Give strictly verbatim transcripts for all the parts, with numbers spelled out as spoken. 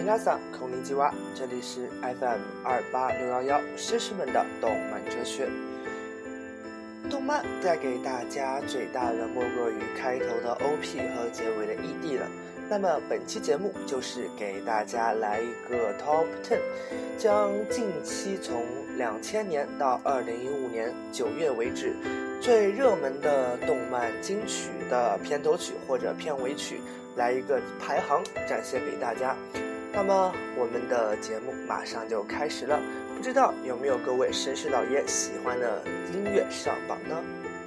皆さんこんにちは，这里是 F M 二八六一一绅士们的动漫哲学。动漫带给大家最大的莫过于开头的 O P 和结尾的 E D 了。那么本期节目就是给大家来一个 Top 十，将近期从两千年到二零一五年九月为止最热门的动漫金曲的片头曲或者片尾曲来一个排行展现给大家。那么我们的节目马上就开始了，不知道有没有各位绅士老爷喜欢的音乐上榜呢？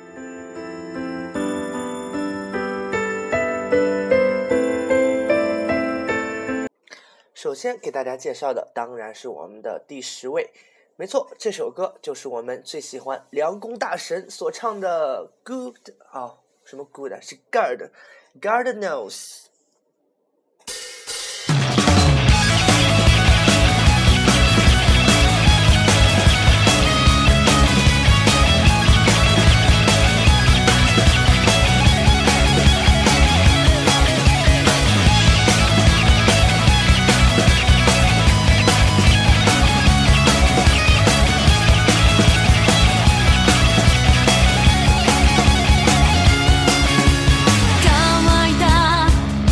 首先给大家介绍的当然是我们的第十位，没错，这首歌就是我们最喜欢凉宫大神所唱的 Good 啊、哦，什么 Good 啊，是 God God Knows。 乾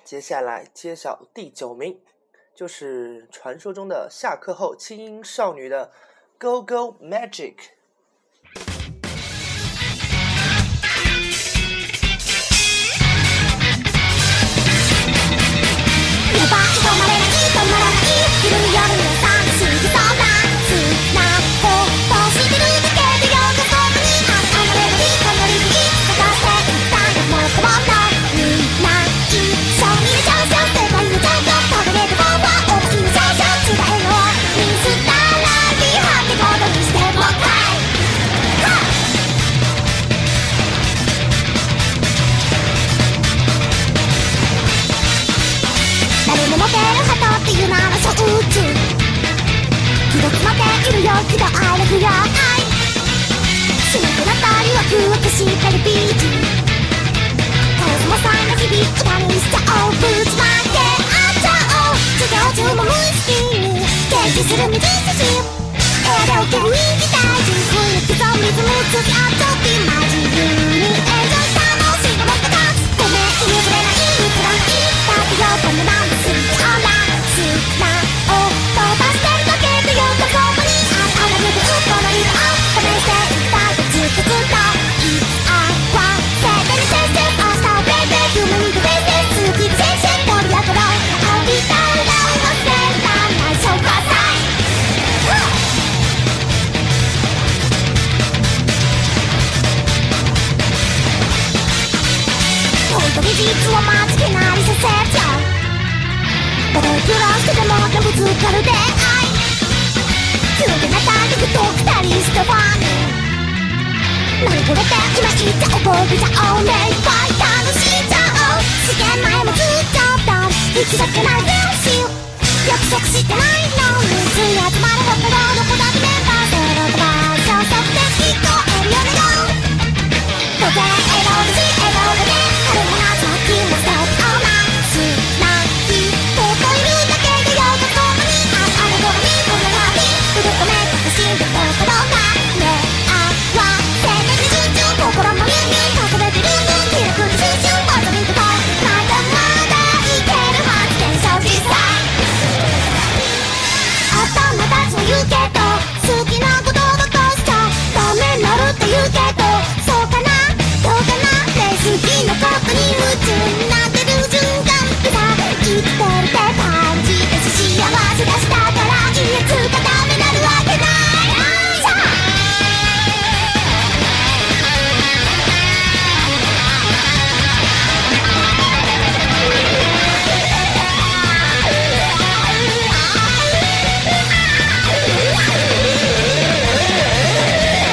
接下来揭晓第九名，就是传说中的下课后轻音少女的 Go Go Magic。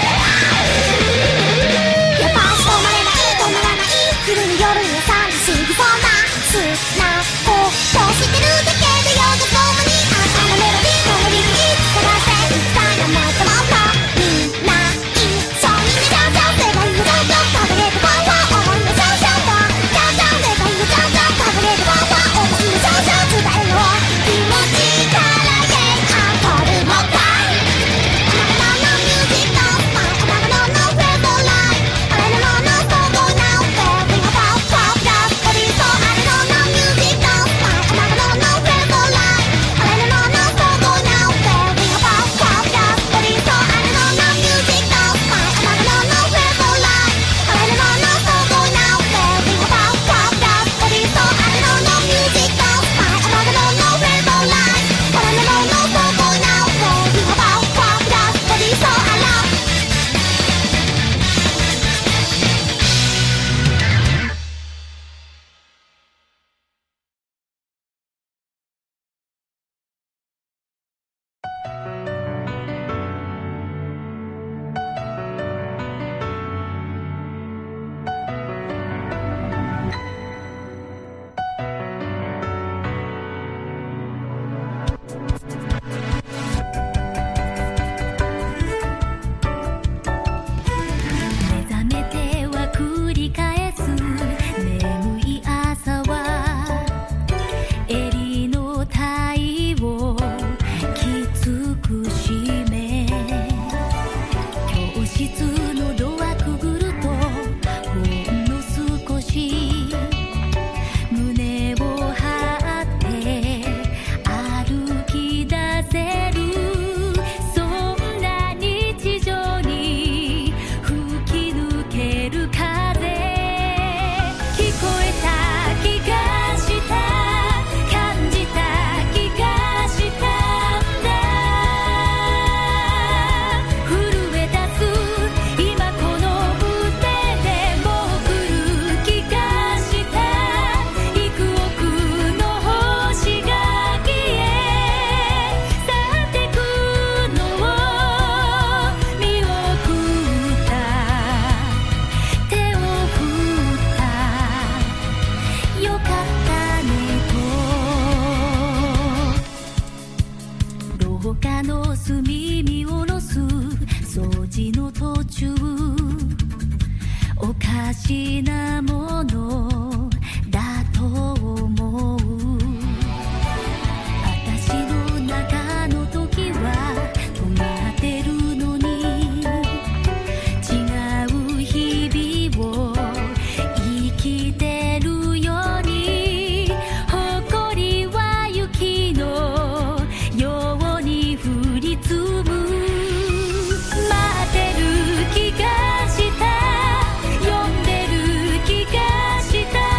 「 す耳下ろす掃除の途中おかしなものだと思う私の中の時は止まってるのに違う日々を生きてるように誇りは雪のように降り積む待ってる気がした呼んでる気がした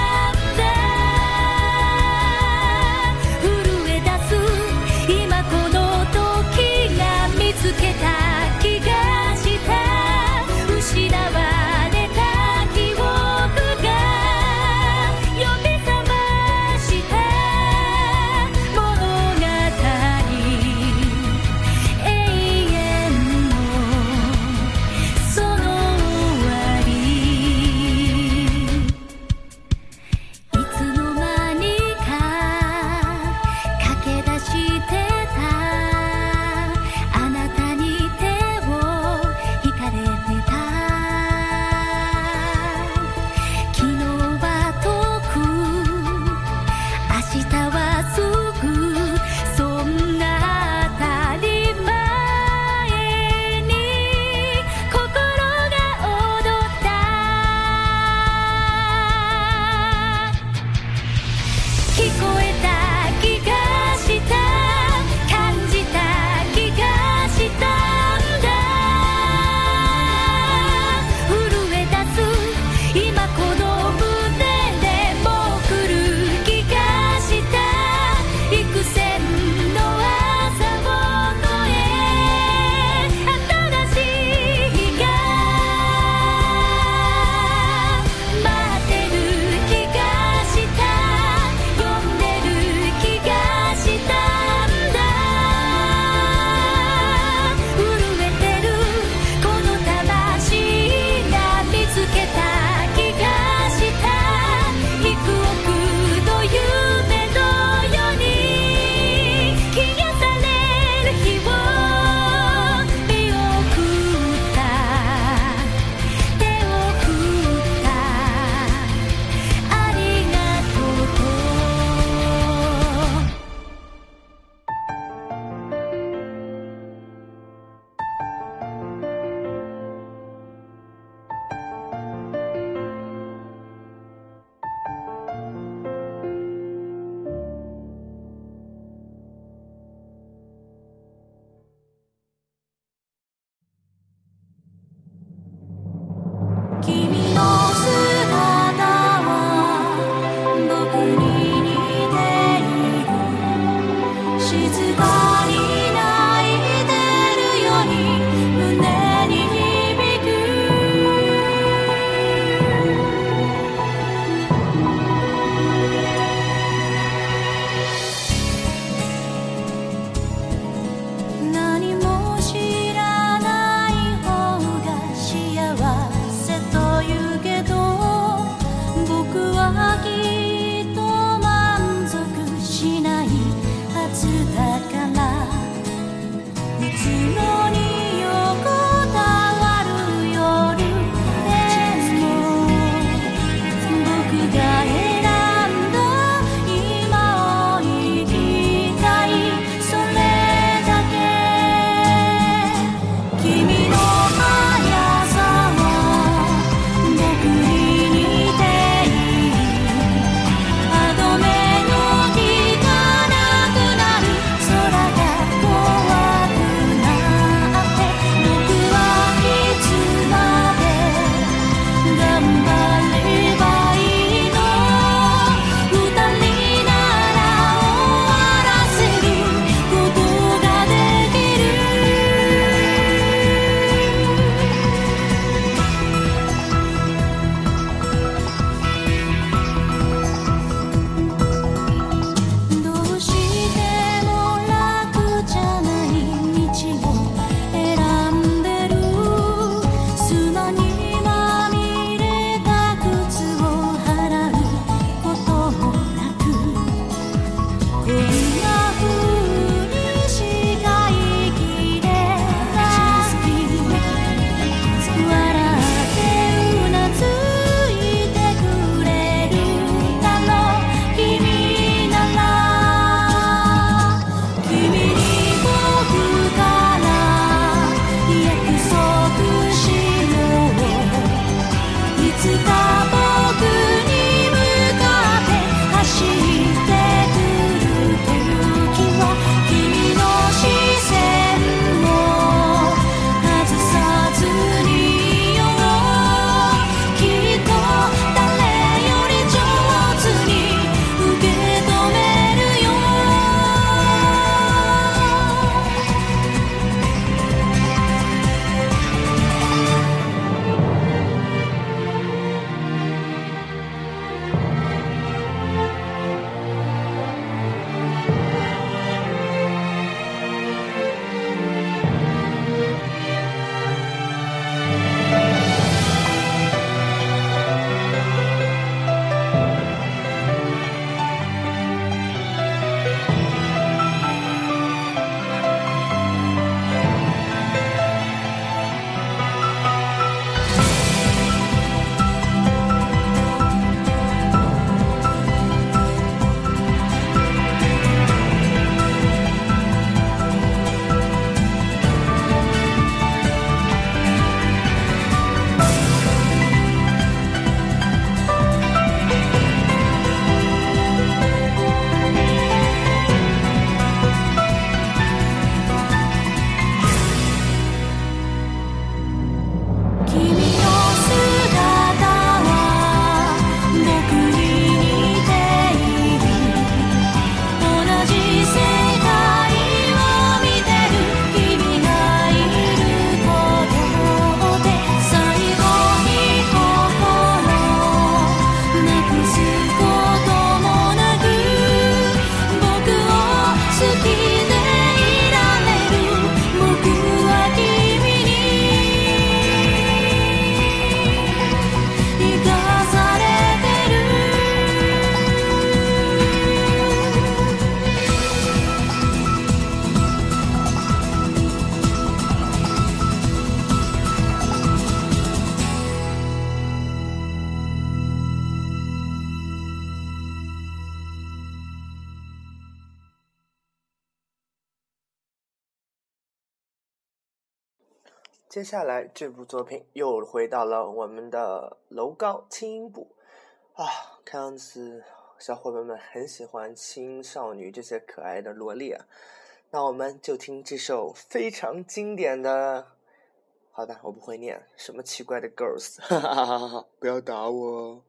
接下来这部作品又回到了我们的楼高轻音部啊，看样子小伙伴们很喜欢青少女这些可爱的萝莉啊，那我们就听这首非常经典的，好的，我不会念什么奇怪的 girls， 哈哈哈哈，不要打我。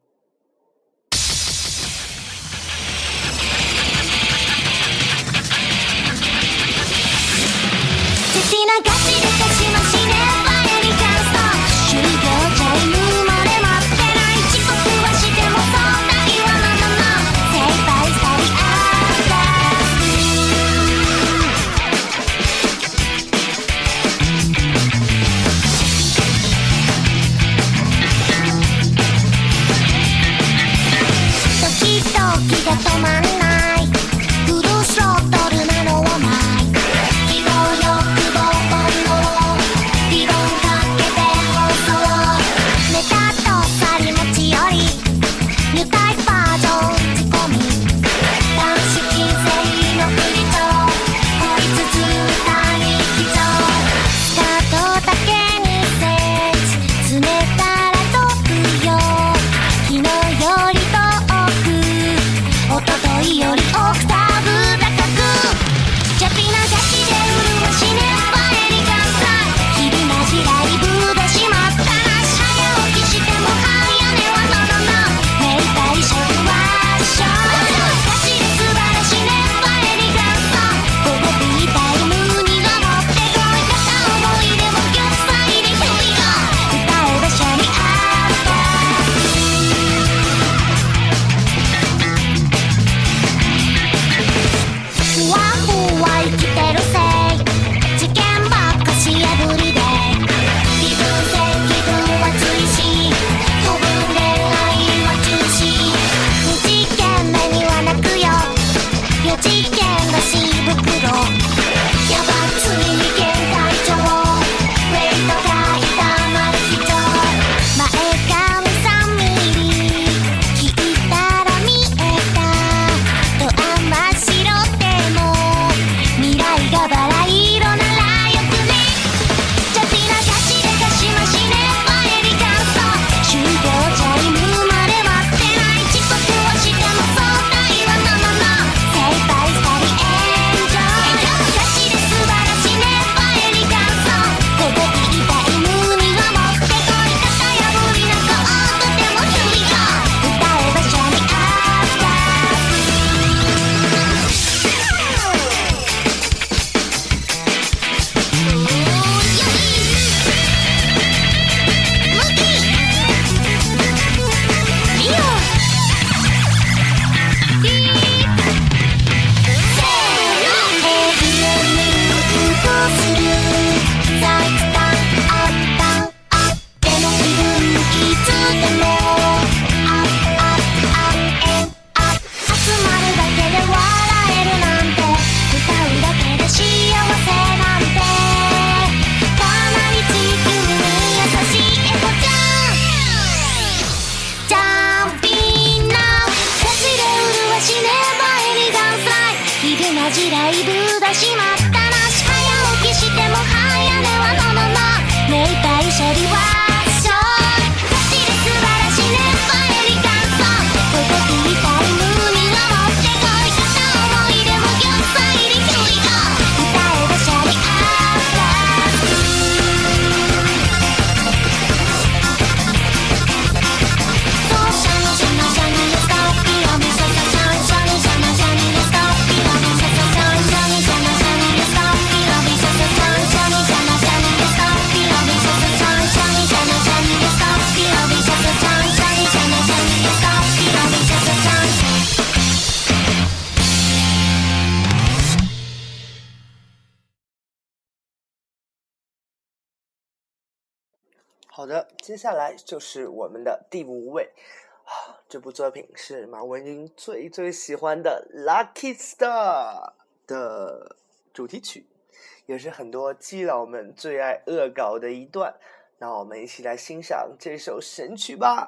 好的，接下来就是我们的第五位啊，这部作品是马文君最最喜欢的《Lucky Star》的主题曲，也是很多基佬们最爱恶搞的一段。那我们一起来欣赏这首神曲吧。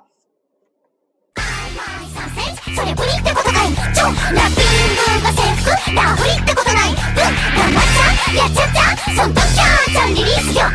それプリってことないちょラッピングが制服ラフリってことないうん頑張っちゃやっちゃったそんときゃちゃんリリースよ汗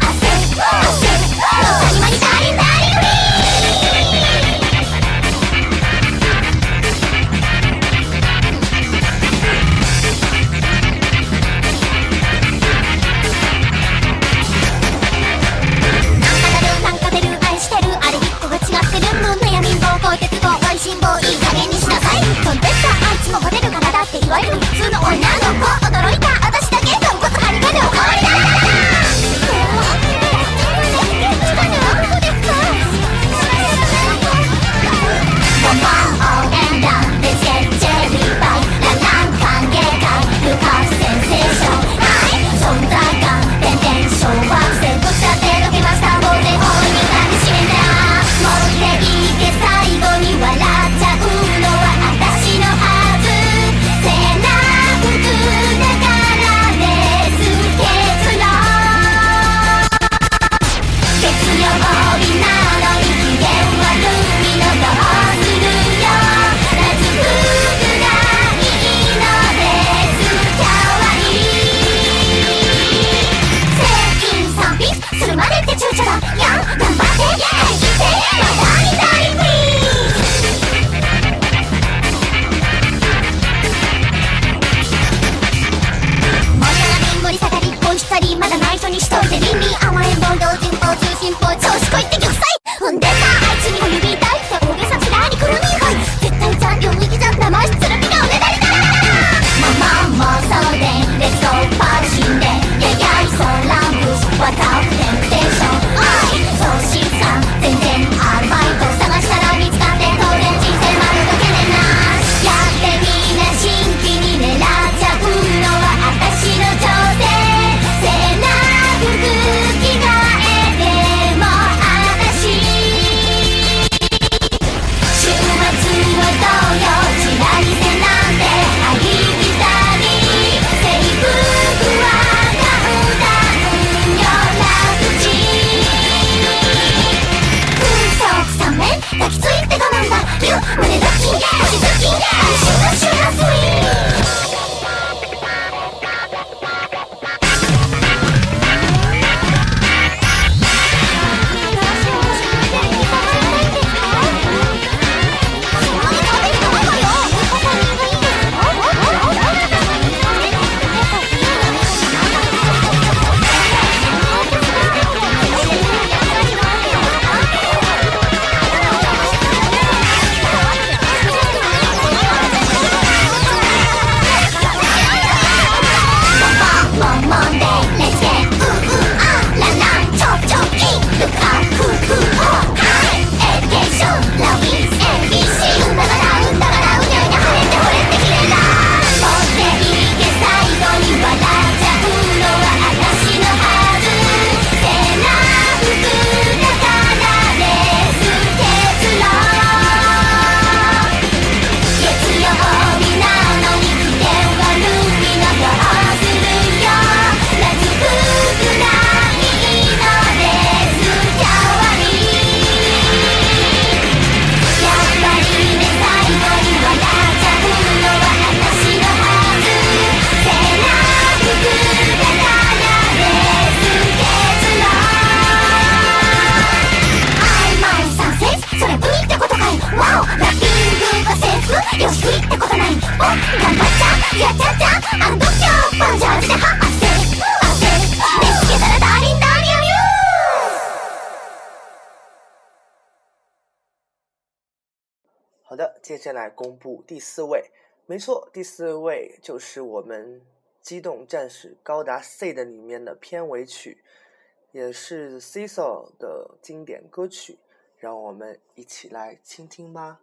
好的，接下来公布第四位。没错，第四位就是我们《机动战士高达 C》的里面的片尾曲，也是 Cecil 的经典歌曲，让我们一起来倾听吧。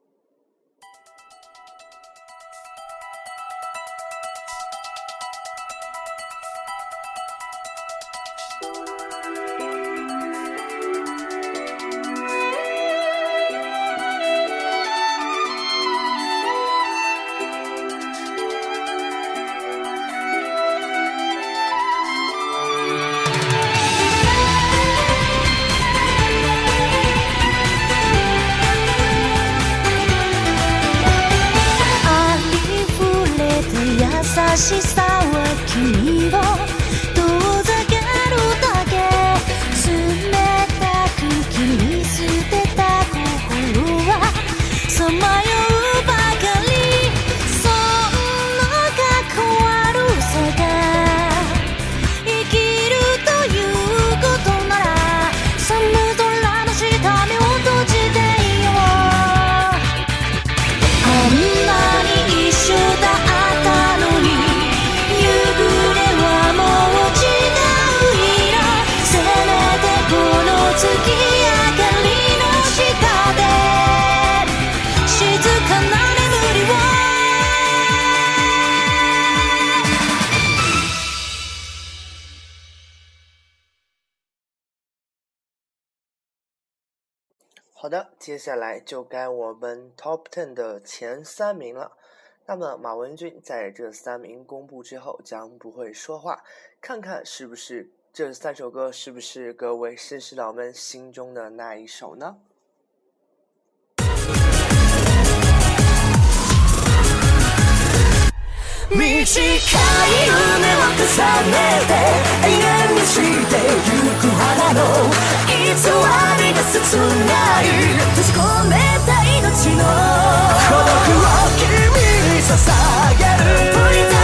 優しさは君を遠ざけるだけ好的，接下来就该我们 Top Ten 的前三名了。那么马文君在这三名公布之后将不会说话，看看是不是这三首歌是不是各位绅士佬们心中的那一首呢？ 短い夢を重ねて永遠にしてゆく花の偽りが切ない閉じ込めた命の孤独を君に捧げるプリザ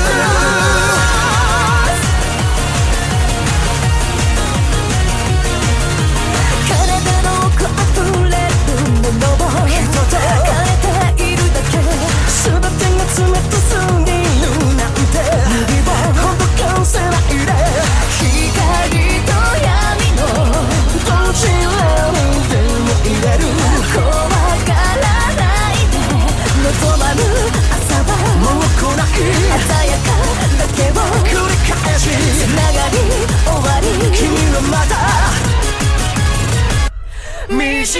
体の奥溢れるものを人と変えているだけ全てが冷たすぎるなんて指をほどかせないで光と闇のどちらにでも入れる怖がらないで望まぬ朝はもう来ない鮮やかだけを繰り返しつながり終わり君はまた短い夢を重ね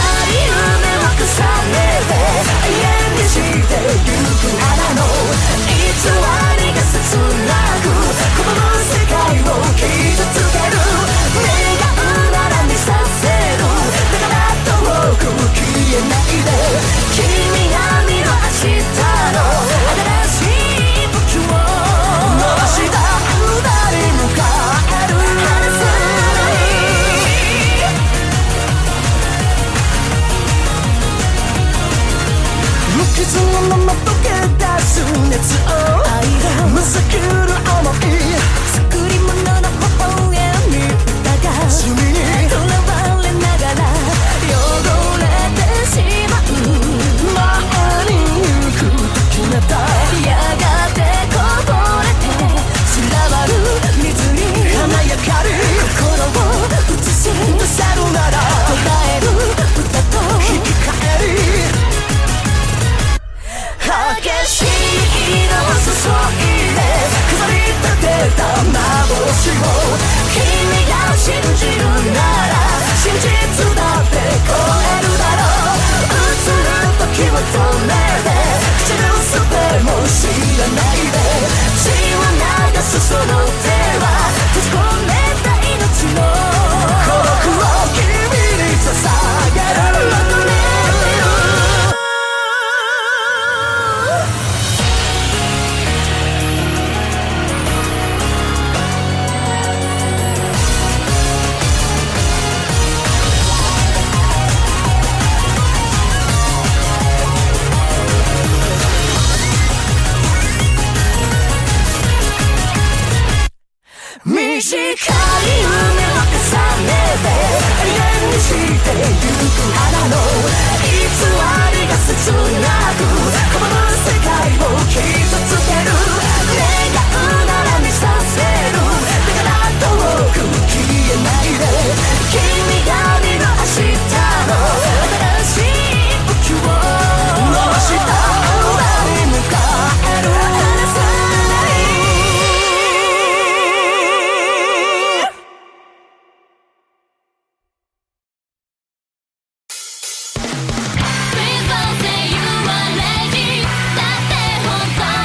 て永遠にしてゆく花の偽りが切なく拒む世界を傷つける願うなら見させるだから遠く消えないで君が見る明日の新しい武器を伸ばした歌に向かえる離さない無傷のまま溶け出す熱をむさくる想い作り物の微笑みだが罪にとらわれながら汚れてしまう前に行くと決めたやがてこぼれて散らばる水に華やかる心を映し出せるなら捉える歌と引き換えり激しい色を注いで飾り立てた幻を君が信じるなら真実だって超えるだろう映る時を止めて口のすべも知らないで血を流すその手は閉じ込めた命の孤独を君に捧げる求めてる短い夢を重ねて永遠にしてゆく花の偽りが切なく拒む世界を傷つける願うなら見させるだから遠く消えないで君が見る明日の新しい武器を伸ばした裏に向かえる離さない Please don't say you are lazy だって本当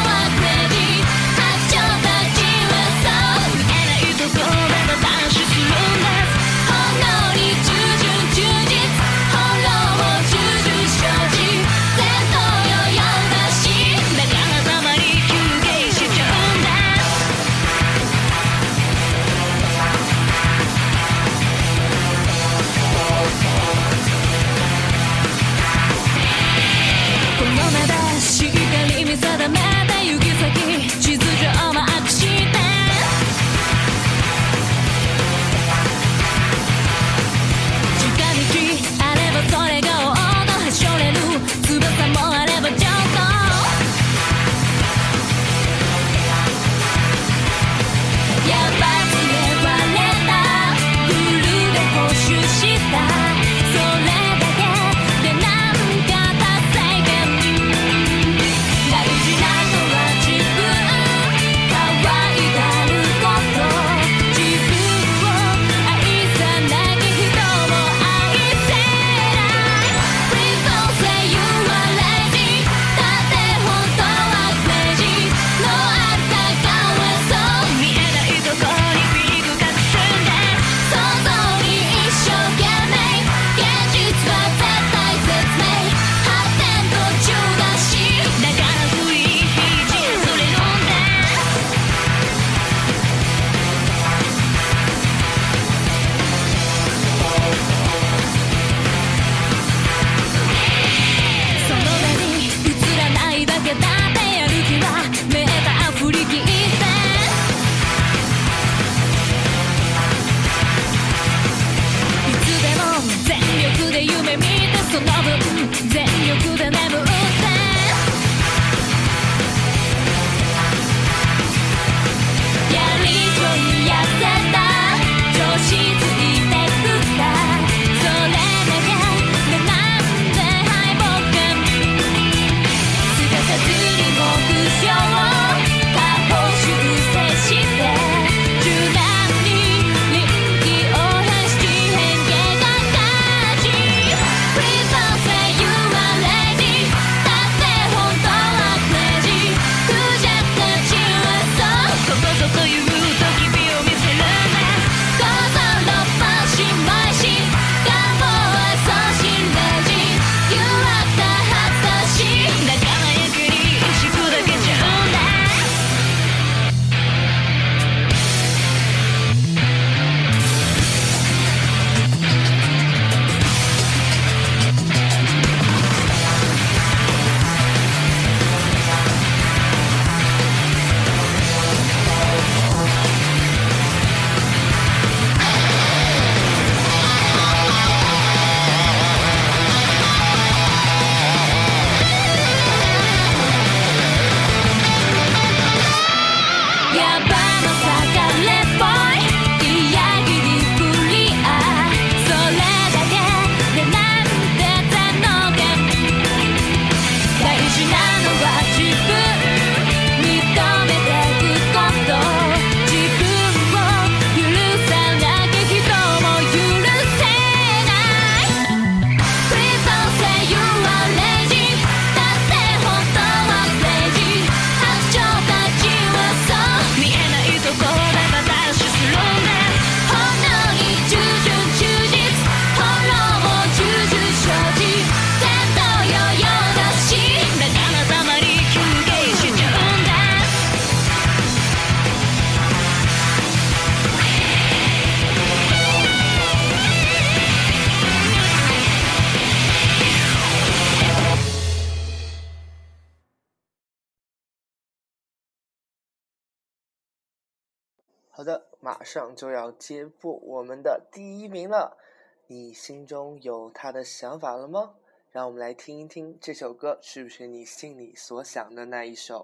好的，马上就要揭布我们的第一名了，你心中有他的想法了吗？让我们来听一听这首歌是不是你心里所想的那一首。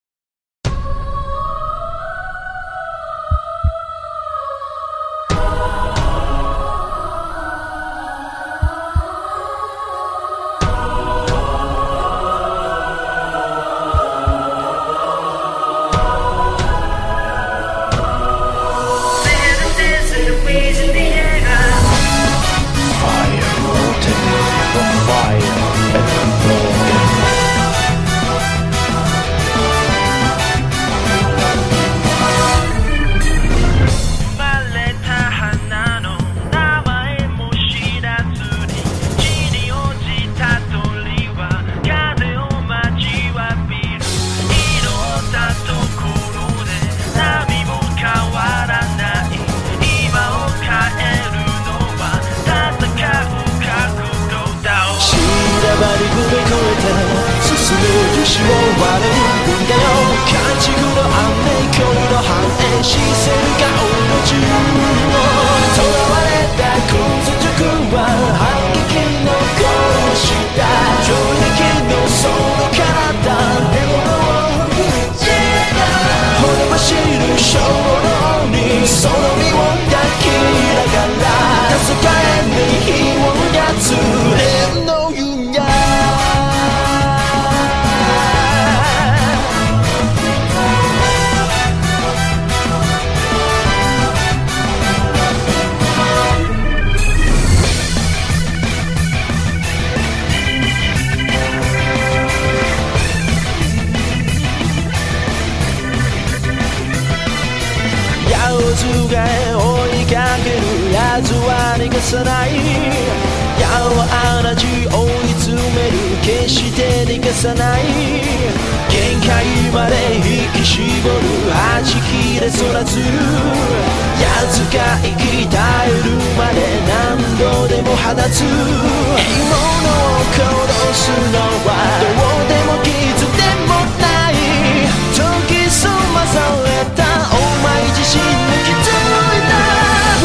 さない矢は同じ追い詰める決して逃がさない限界まで引き絞る弾き出そらず奴が生き絶えるまで何度でも放つ獲物を殺すのはどうでも傷でもない研ぎ澄まされたお前自身の気づいた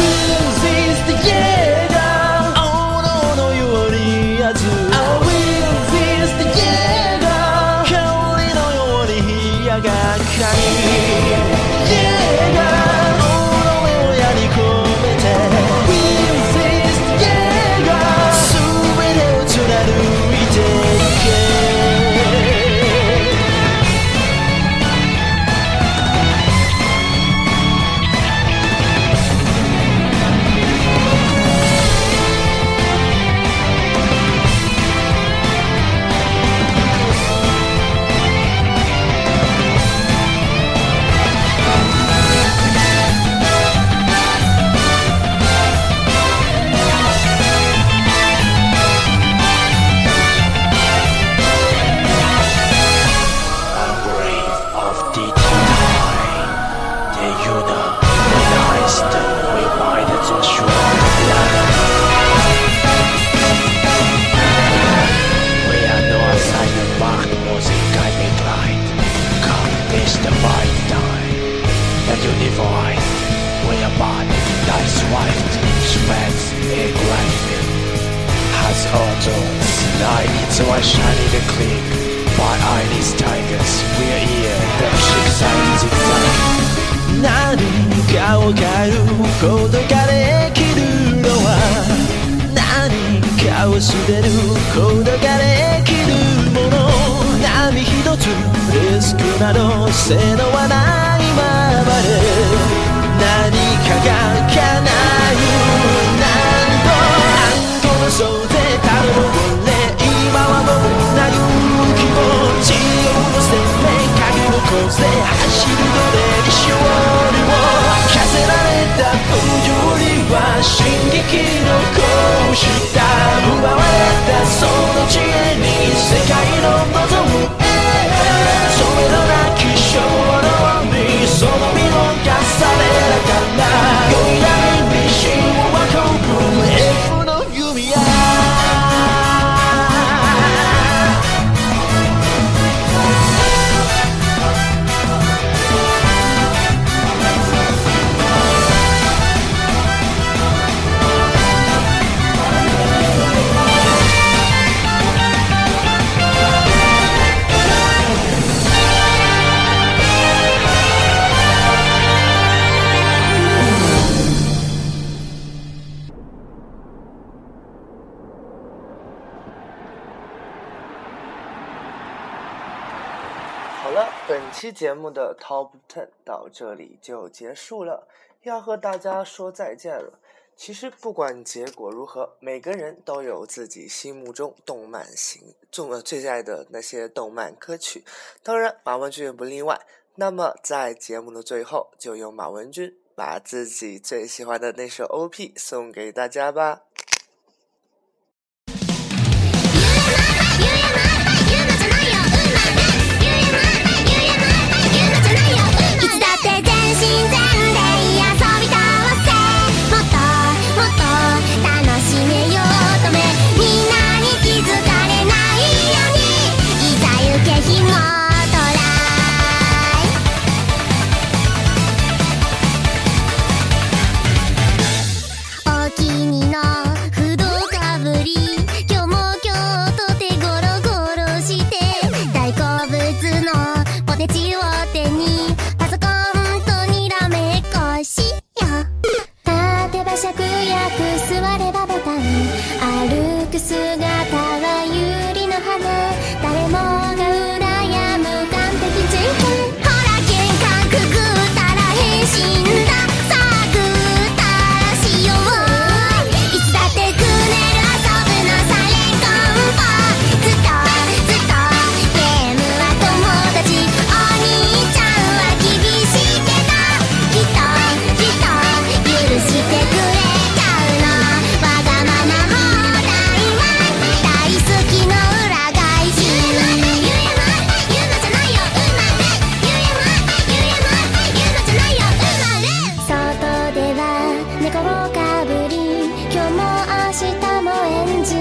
せのはないままで何かが叶うなんとあんこの袖たるもれ今はもうな勇気を血をのせめ影の風走るので勝利を課せられた不条理は進撃の拳だ奪われたその知恵に世界の望むそれのなき衝動にその身を重ねながら酔い波に心は込む F の弓矢了，本期节目的 Top Ten 到这里就结束了，要和大家说再见了。其实不管结果如何，每个人都有自己心目中动漫型中呃最爱的那些动漫歌曲，当然马文君也不例外。那么在节目的最后，就由马文君把自己最喜欢的那首 O P 送给大家吧。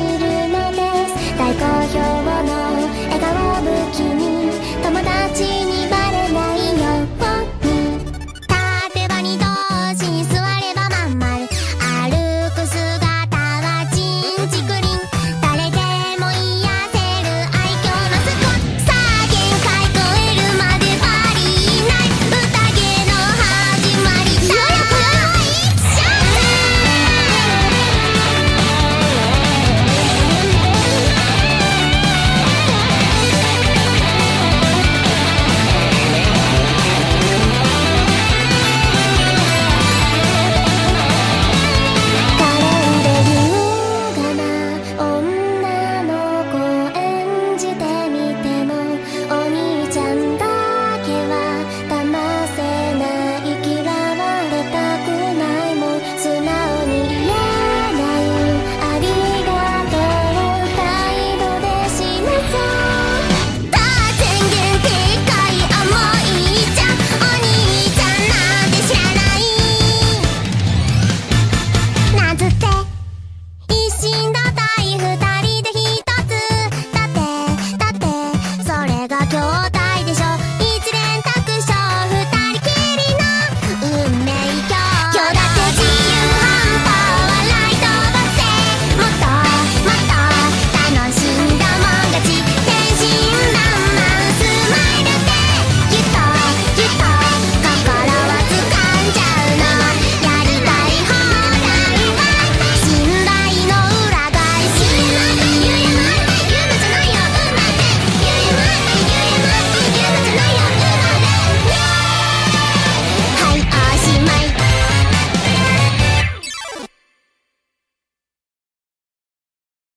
大好評の笑顔武器に友達に